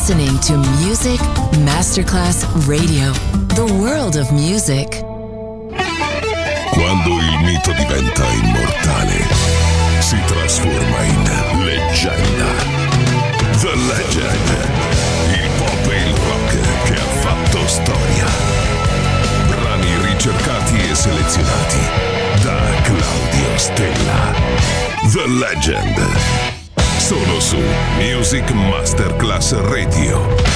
listening to Music Masterclass Radio, the world of music. Quando il mito diventa immortale, si trasforma in leggenda. The Legend, il pop e il rock che ha fatto storia. Brani ricercati e selezionati da Claudio Stella. The Legend, solo su Music Masterclass Radio.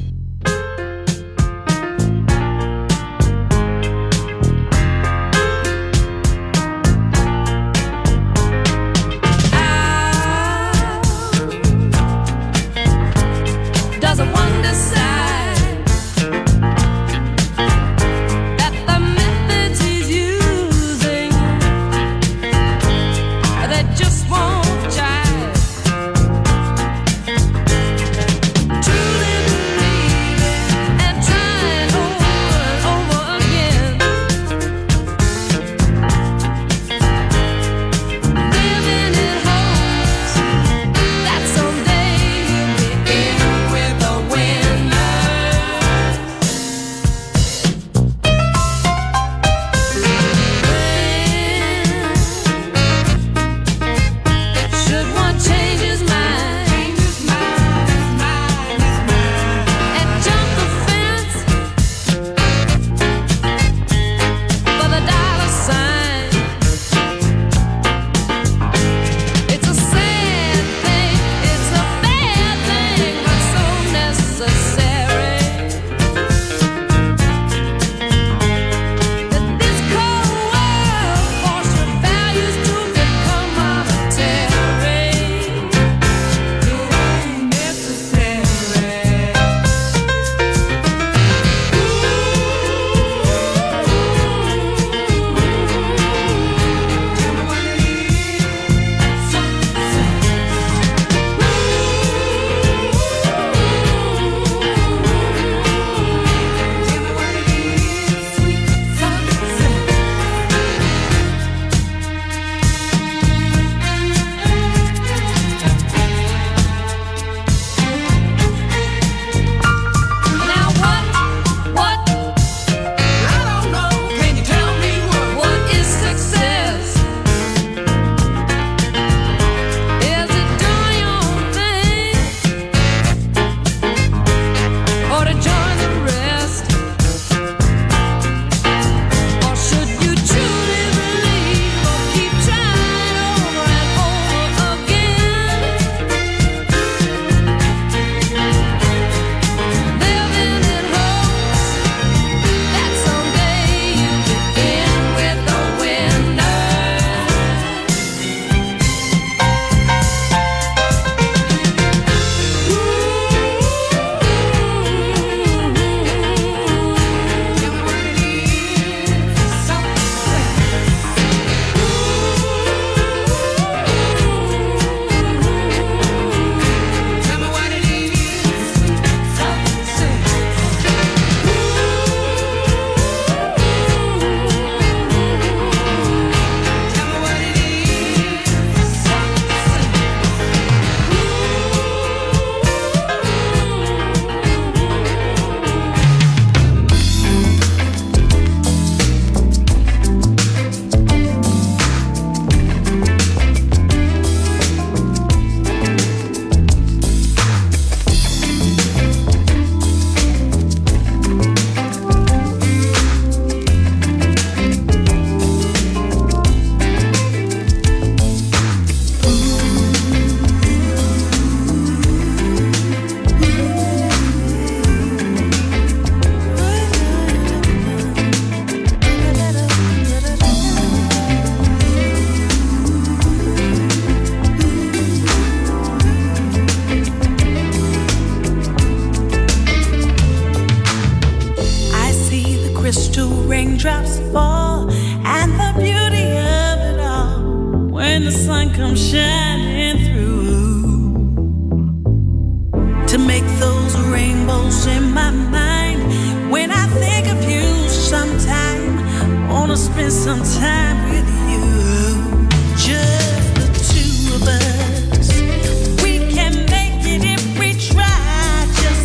Spend some time with you, just the two of us. We can make it if we try. Just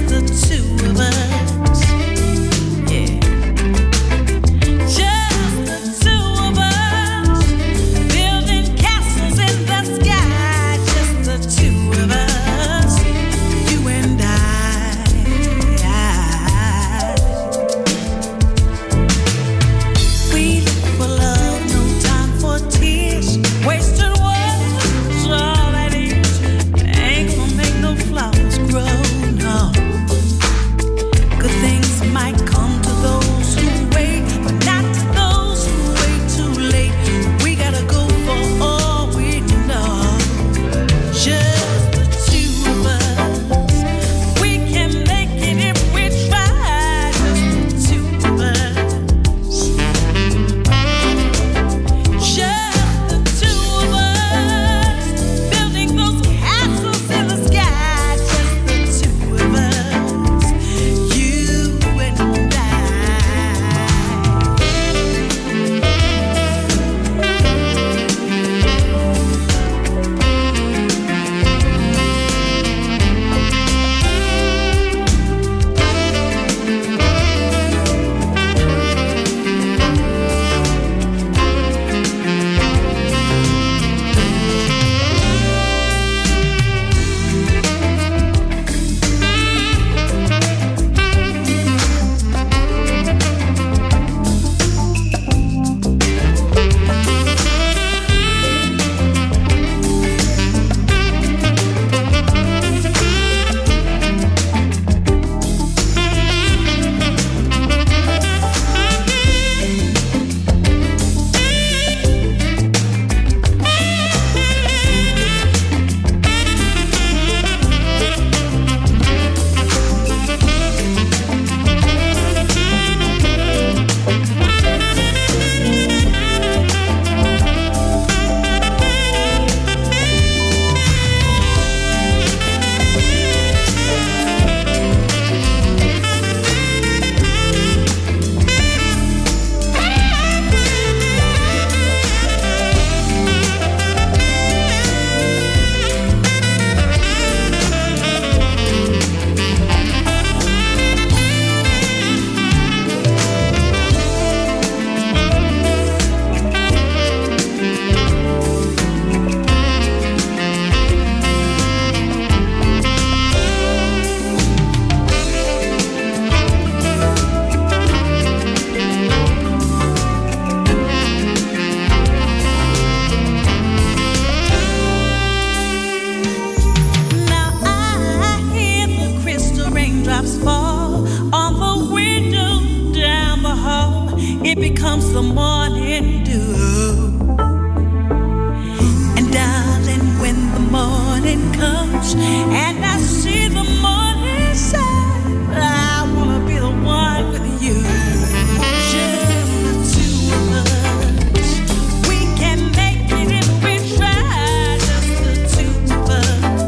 and I see the morning sun. I wanna be the one with you, just the two of us. We can make it if we try, just the two of us.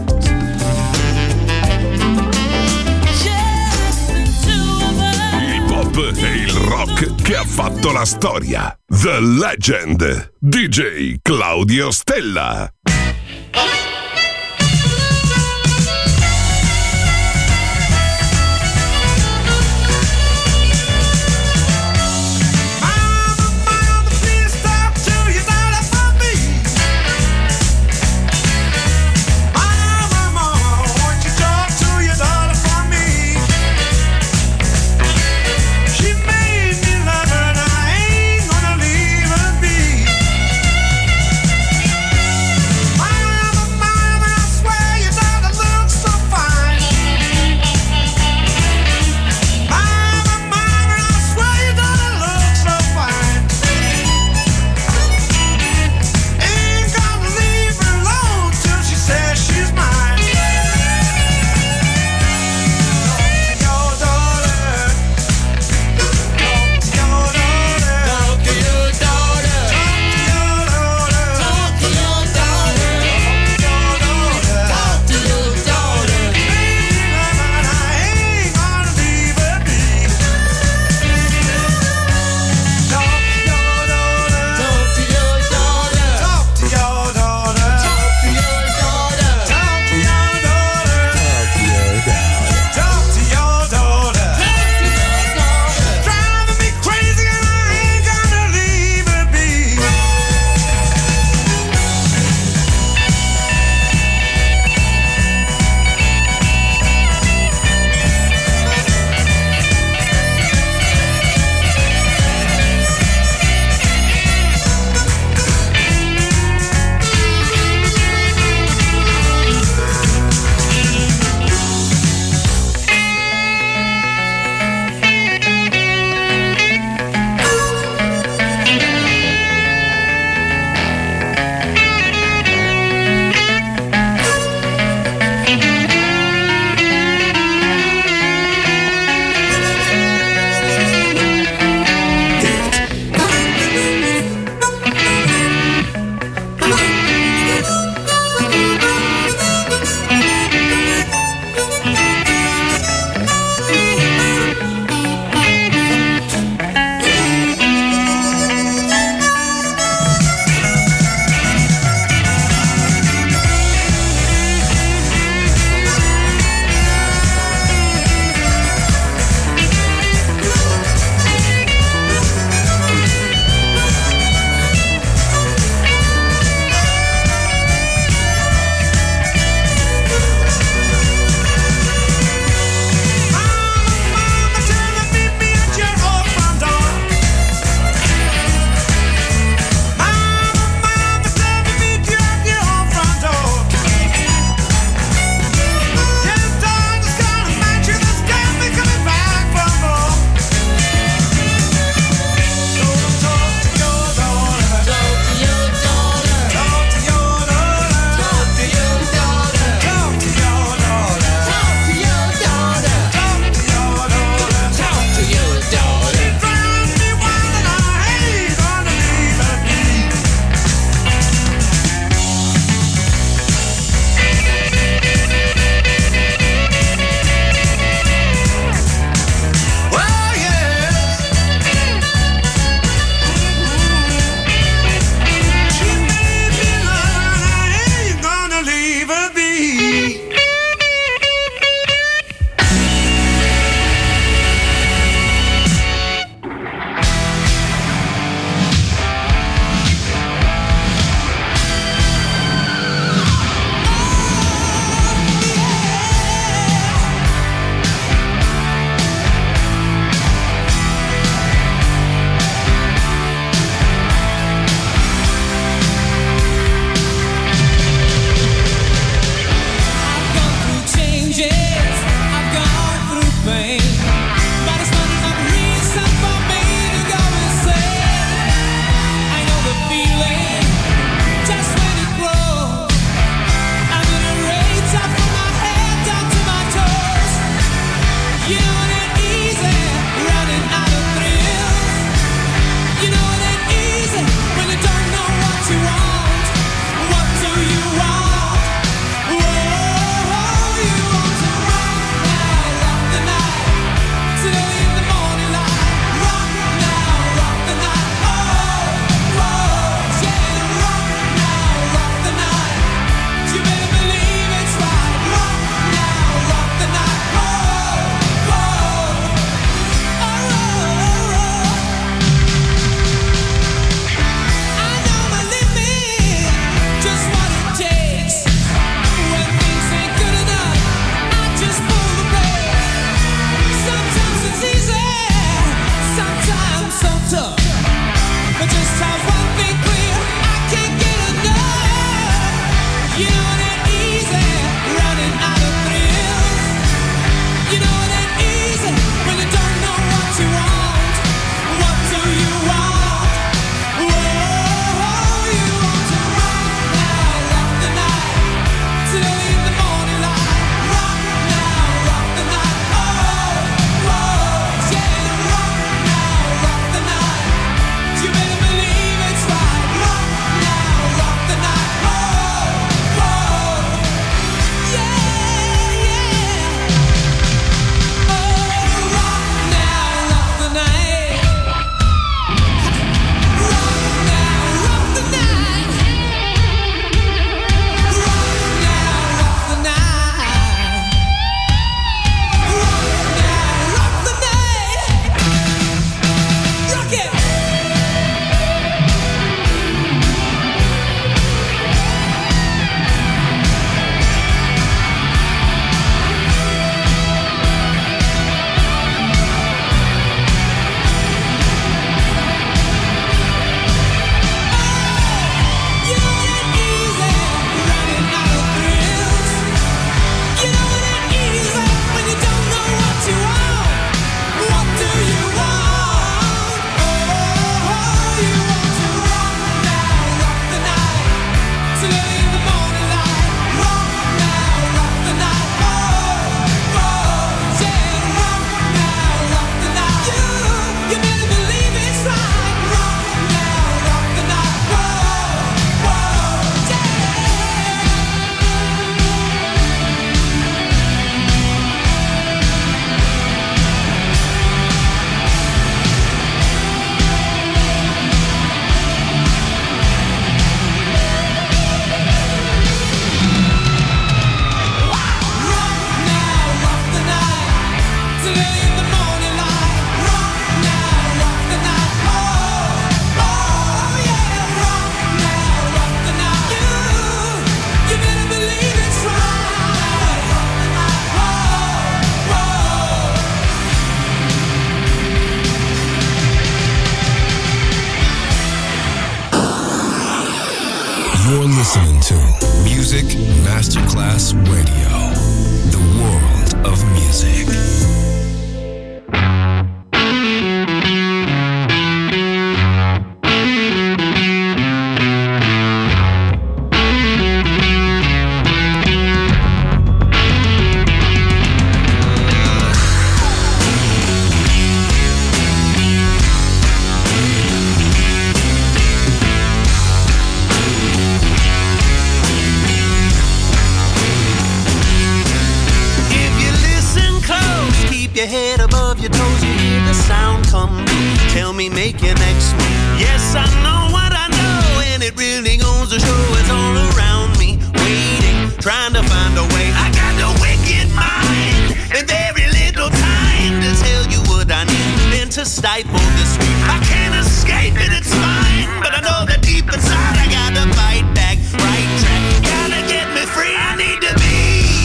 Just the two of us. Il pop e il rock che ha fatto la storia. The Legend, DJ Claudio Stella. Mama, Music Masterclass Radio. The world of music. Make your next move. Yes, I know what I know, and it really goes to show it's all around me, waiting, trying to find a way. I got a wicked mind and very little time to tell you what I need, then to stifle this street. I can't escape it, it's mine, but I know that deep inside I gotta fight back, right track. Gotta get me free, I need to be.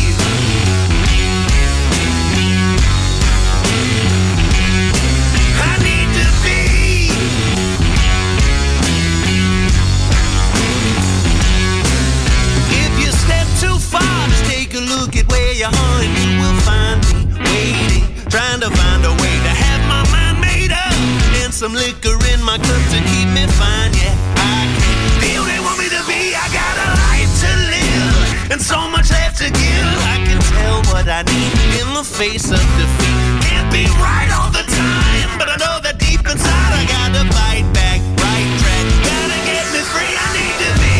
Look at where you are and you will find me waiting, trying to find a way to have my mind made up and some liquor in my cup to keep me fine. Yeah, I can be who they want me to be. I got a life to live and so much left to give. I can tell what I need in the face of defeat. Can't be right all the time, but I know that deep inside I gotta fight back, right track. Gotta get me free, I need to be.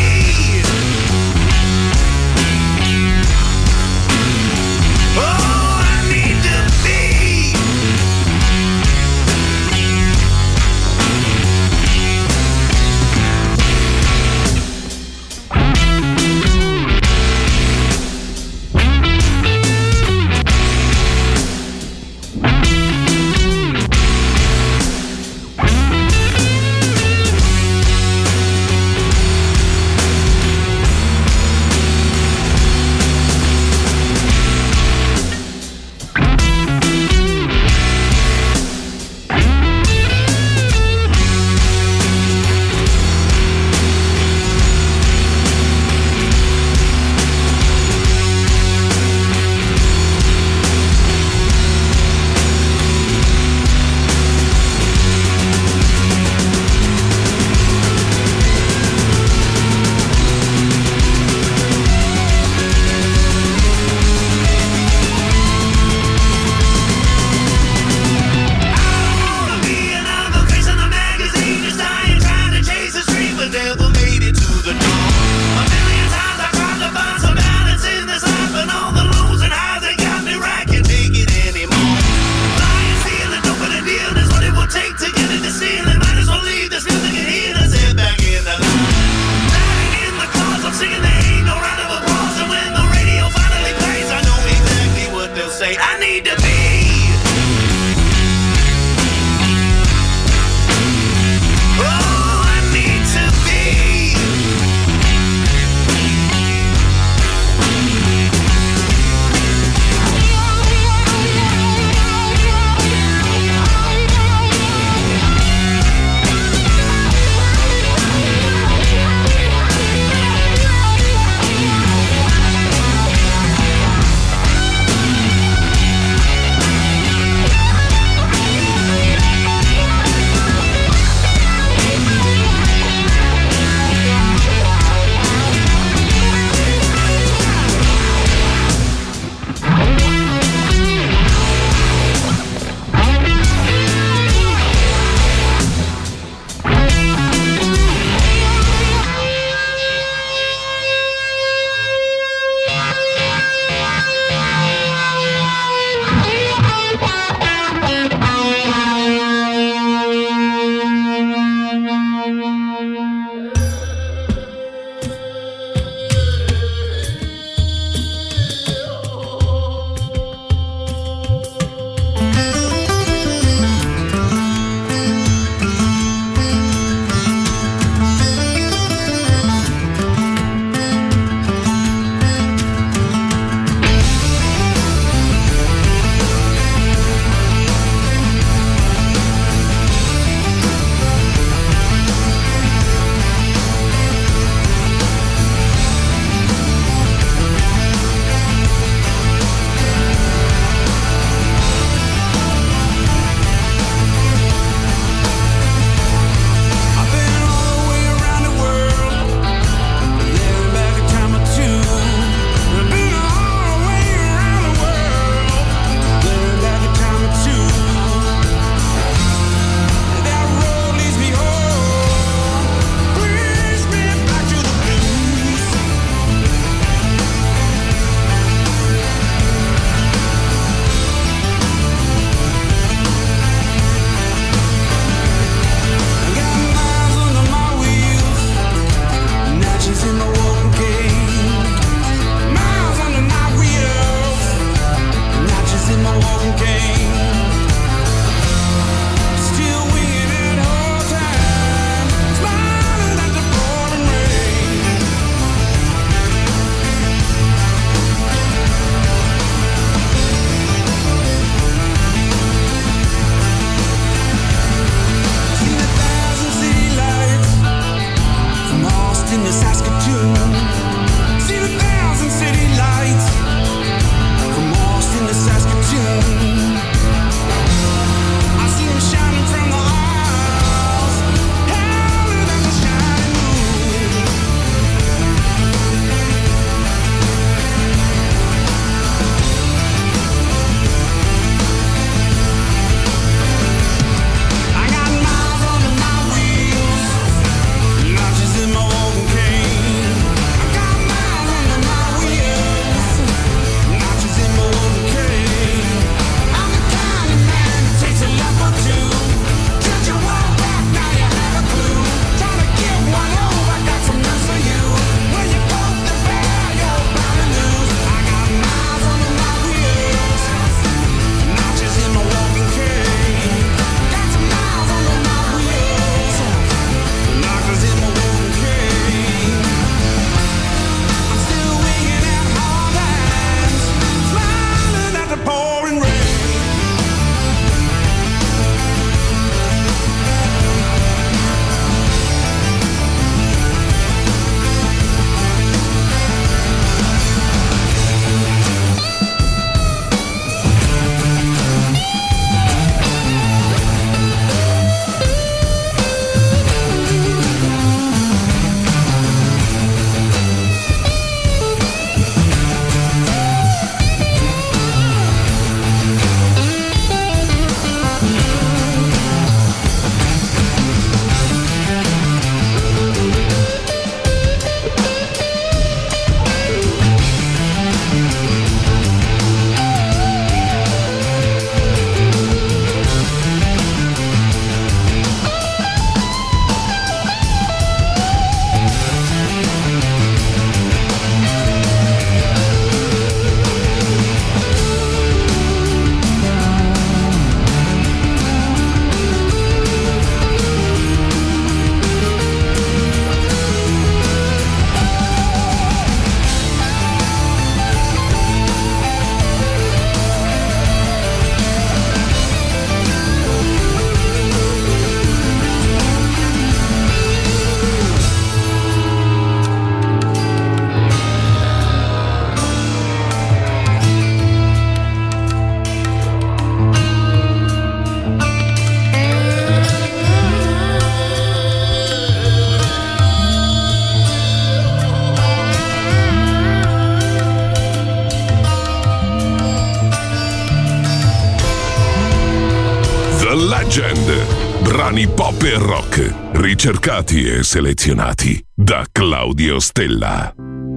Legend. Brani pop e rock, ricercati e selezionati da Claudio Stella.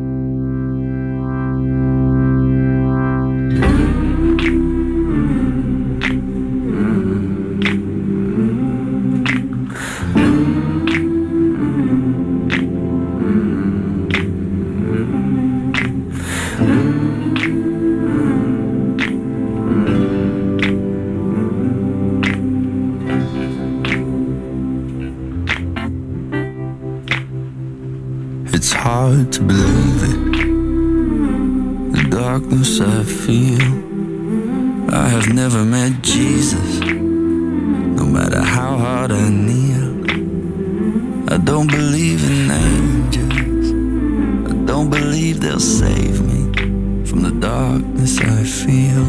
It's hard to believe it, the darkness I feel. I have never met Jesus, no matter how hard I kneel. I don't believe in angels, I don't believe they'll save me from the darkness I feel.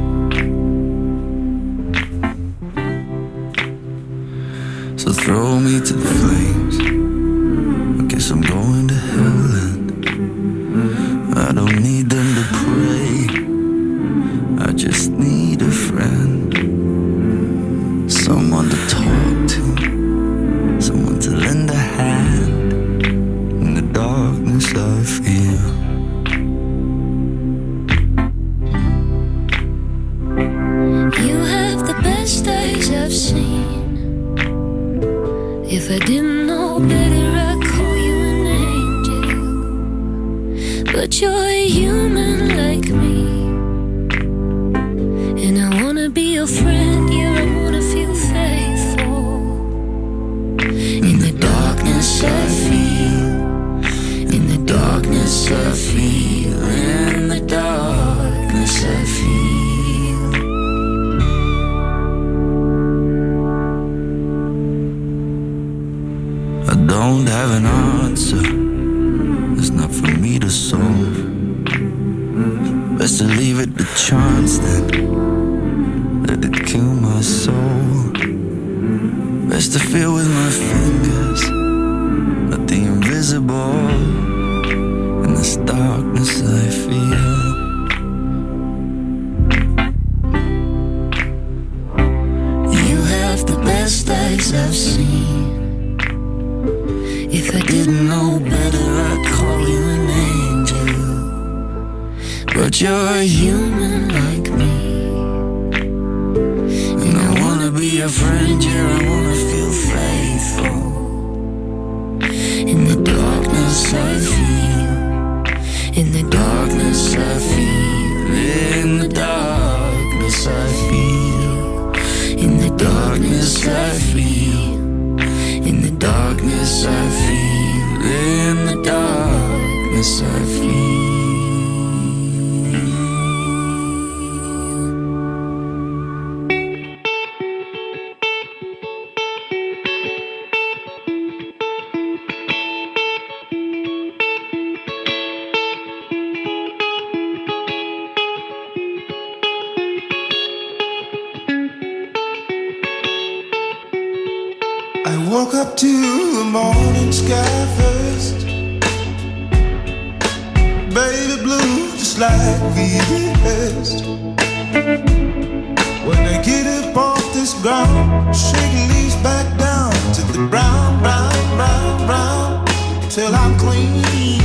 So throw me to the flames, guess I'm going to hell and I don't need them to pray, I just need a friend, someone to talk to, someone to lend a hand in the darkness I feel. You have the best eyes I've seen. If I didn't know better, I'd call you an angel. But you're a human like me, and I wanna be your friend, yeah, I wanna feel faithful. In the darkness I feel, in the darkness I feel, in the darkness I feel. I don't have an answer, it's not for me to solve. Best to leave it to chance then, let it kill my soul. Best to feel with my fingers, let the invisible in this darkness I feel. You have the best eyes I've seen. If I didn't know better, I'd call you an angel. But you're a human like me, And I wanna be a friend, yeah, I wanna feel faithful. in the darkness I feel, in the darkness I feel, In the darkness I feel, in the darkness I feel, in the darkness I feel, in the darkness I feel. I woke up to the morning sky first, baby blue just like we rehearsed. When I get up off this ground, shaking leaves back down to the brown, brown, brown, brown, till I'm clean.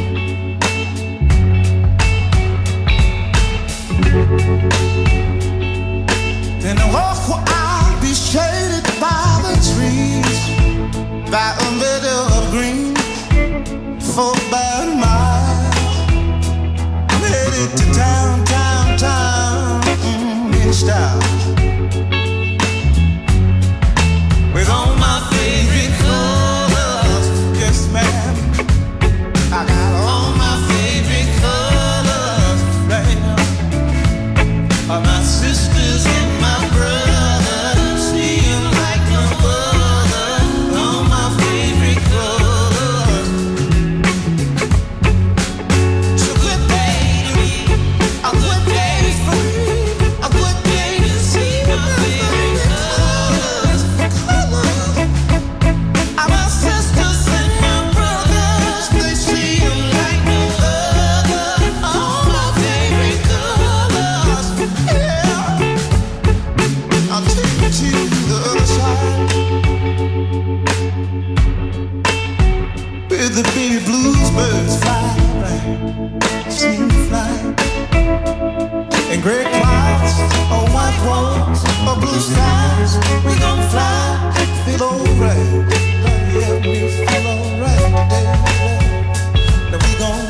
Then I walk where I'll be shaded by the trees, by a meadow of green, for about a mile. I'm headed to town, town, town, in style, with all my favorite colors. Yes, ma'am, I got all my favorite colors right now. My sisters and my brothers, see 'em like no other. All my favorite colors. So good day to me, a good day for me, a good day to see clouds, or white walls, or blue skies. We gon' fly, feel alright. Yeah, we feel alright, baby. Now we gon'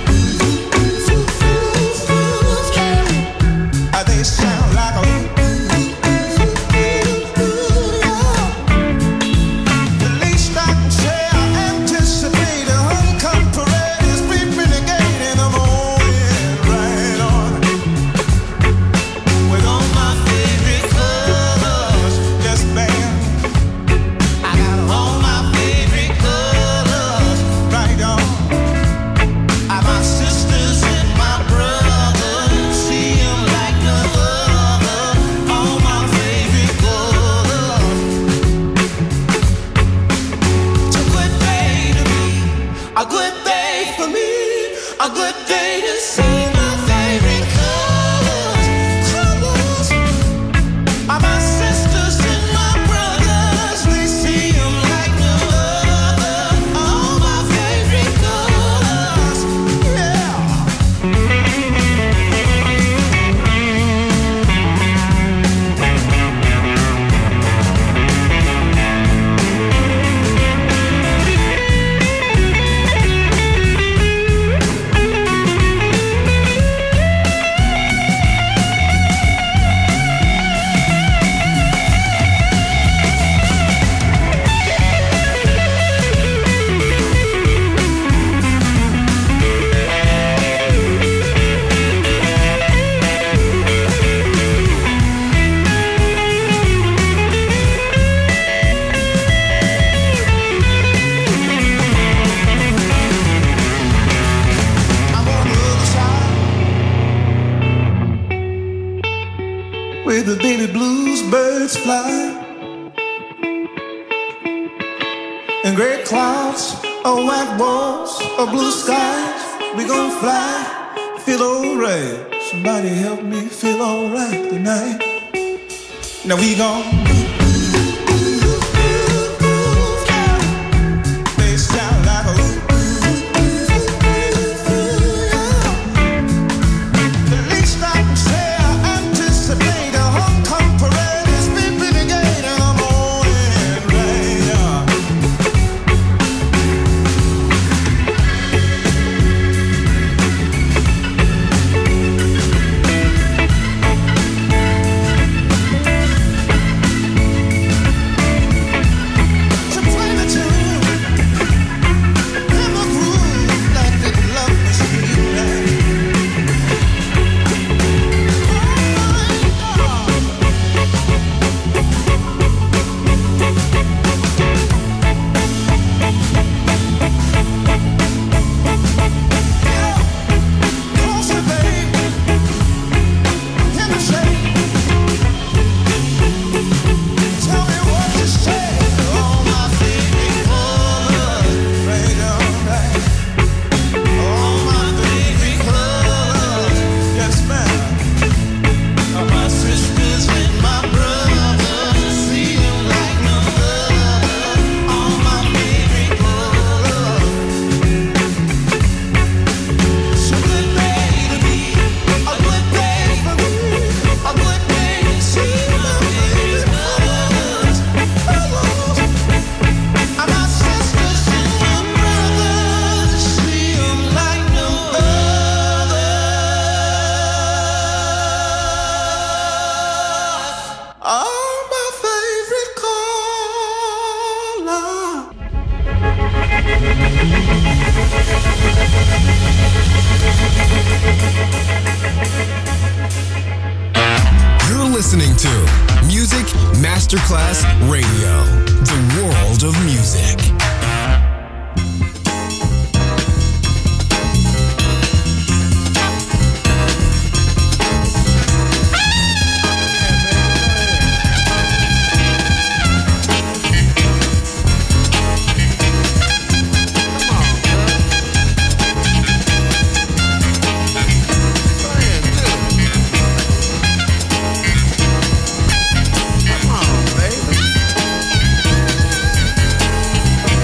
they sound like a the least I can say. I anticipate a homecoming parade is creeping the gate in the morning, right on. With all my favorite colors, yes ma'am. I got all my favorite colors, right on. My sisters and my brothers, see 'em like no other. All my favorite colors. It's a good day to me, a good day for me, a good day to see my favorite colors. Colors. My sisters and my brothers, they see 'em like no other. All my favorite colors. Yeah. Where the baby blues birds fly, and gray clouds, or white walls, or blue skies. We gon' fly, feel alright. Somebody help me feel alright tonight. Now we gon' they sound like a the least I can say. I anticipate a homecoming parade is beeping the gate in the morning, right on. To play the tune in the groove like they love me sweet night. Closer, baby, in the shade. Tell me what you say. All my favorite colors, right on, right. All my favorite colors, yes ma'am. My sisters and my brothers, see 'em like no other. All my favorite colors. It's a good day to be, a good day for me, a good day to see my favorite colors. My sisters and my brothers, see 'em like no other. All my favorite color. You're listening to Music Masterclass Radio, the world of music. Come on, baby.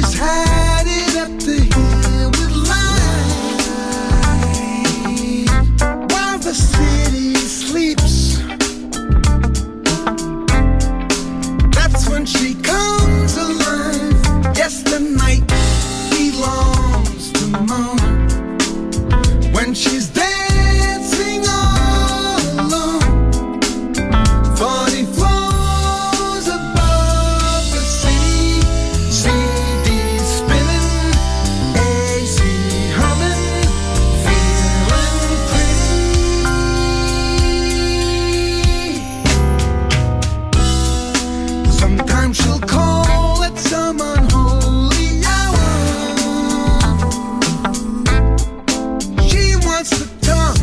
She's had it up the hill with light while the city sleeps. That's when she comes alive. Yes, the night belongs to the moon. When she's dancing all alone, 40 floors above the city, CD spinning, AC humming, feeling pretty. Sometimes she'll call at some unholy hour. She wants to talk.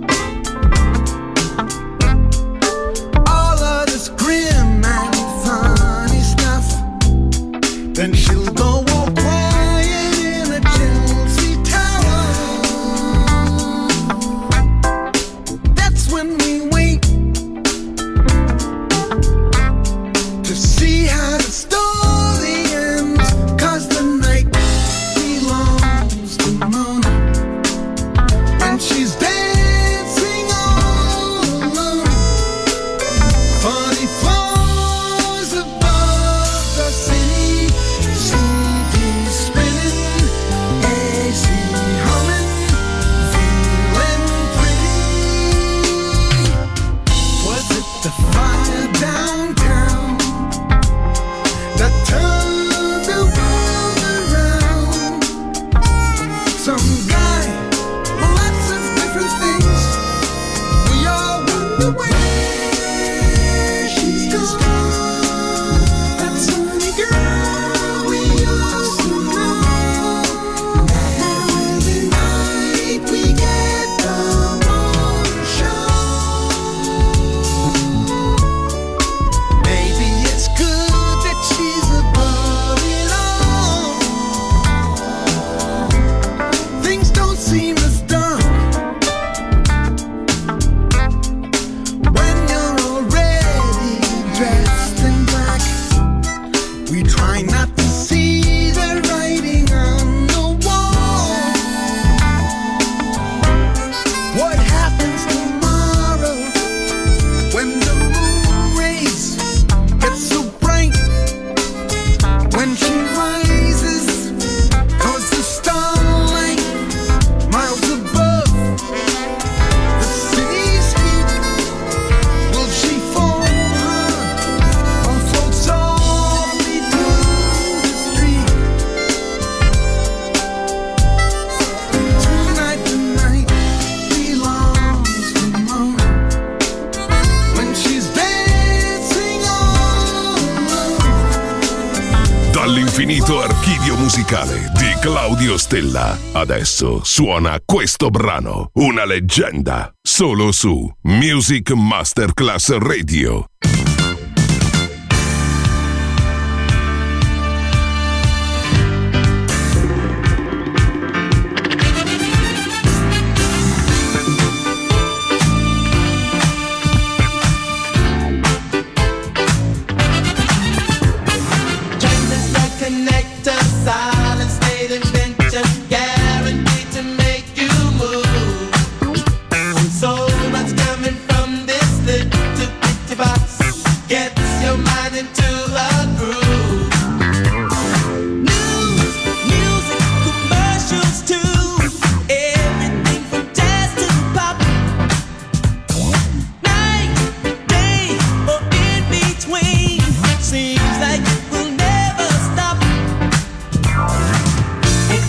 All of this grim and funny stuff. Then she'll go all quiet in a Chelsea tower. That's when we wait to see how the story ends. 'Cause the night belongs to the moon. When she's dancing all alone, 40 floors above the city, CD spinning, AC humming, feeling pretty. Was it the fire downtown that turned the world around? Some guy, lots of different things. We all wonder where she's gone. That sunny girl we used to know. Every night we get the morning show. Maybe it's good that she's above it all. Things don't seem as dark when you're already dressed in black. We try not to see the writing on the wall. What happens tomorrow when the moon rays get so bright? When she rises, 'cause the starlight miles above the city's heat. Will she fall hard or float softly through the street? Tonight the night belongs to the moon. When she's dancing all alone. Dall'infinito archivio musicale di Claudio Stella, adesso suona questo brano, una leggenda, solo su Music Masterclass Radio. Just like connector, silent state invention, guaranteed to make you move. So much coming from this little bitty box gets your mind into a groove. News, music, commercials too. Everything from jazz to pop. Night, day, or in between. Seems like it will never stop.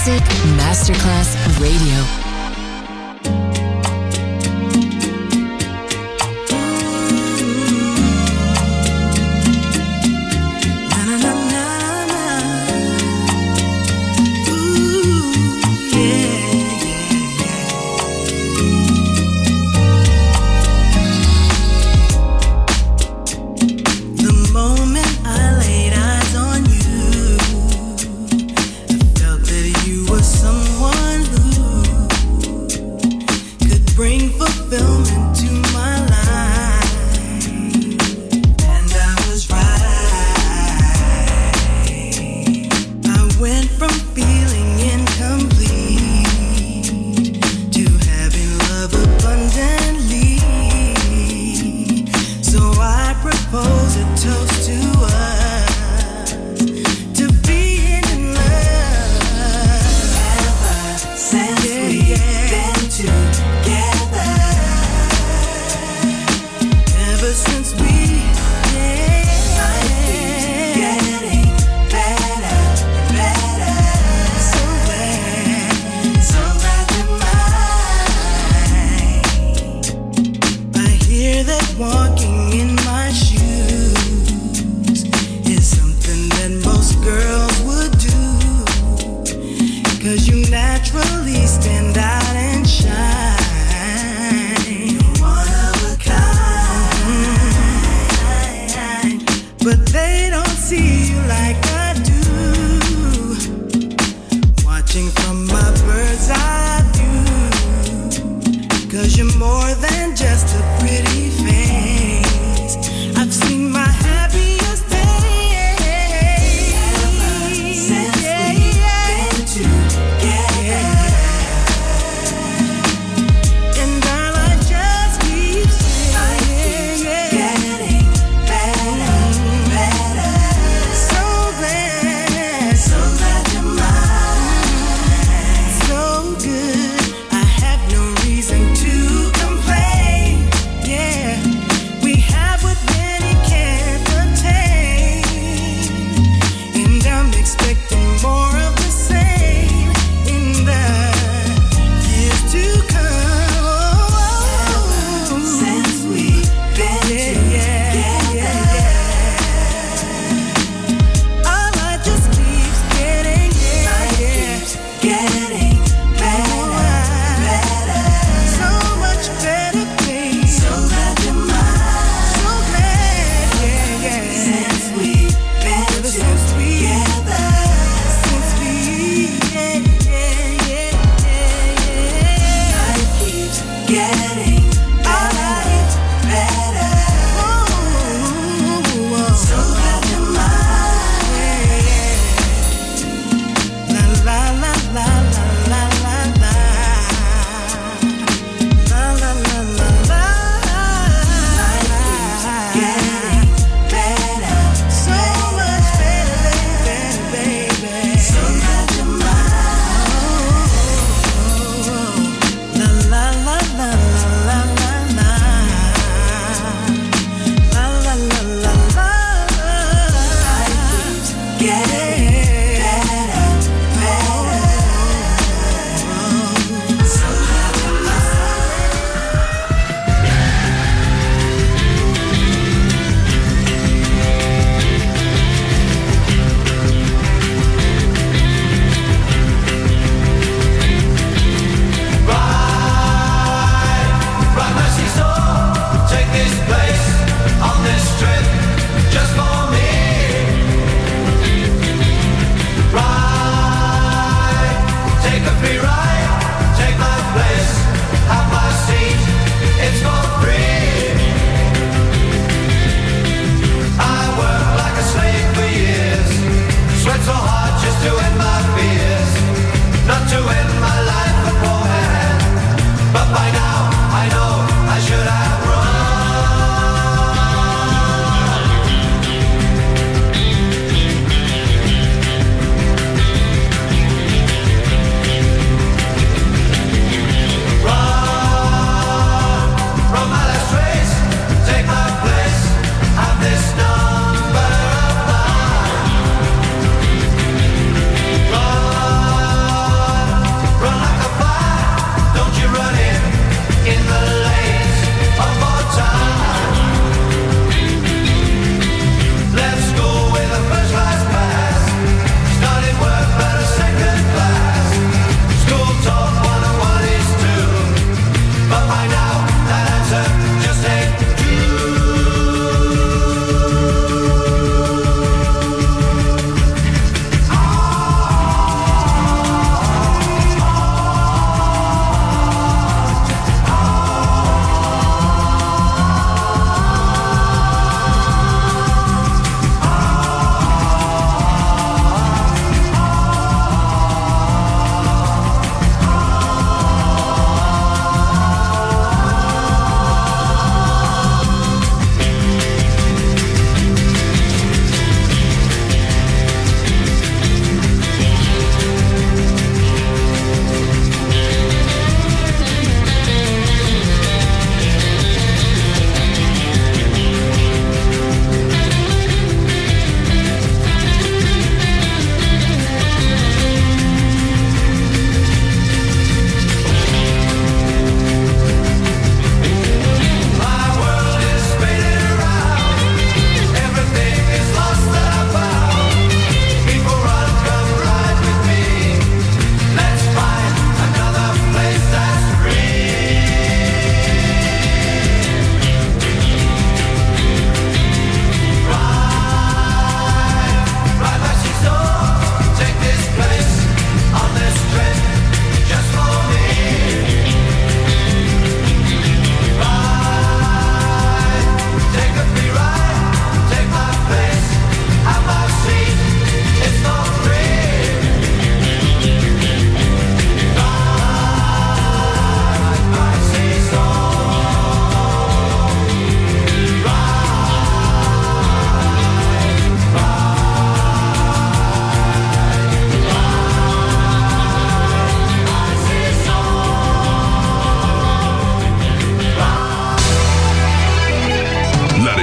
Music Masterclass Radio.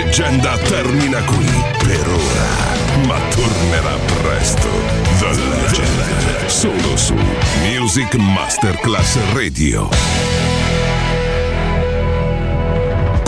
leggenda termina qui per ora, ma tornerà presto. The Legend, solo su Music Masterclass Radio.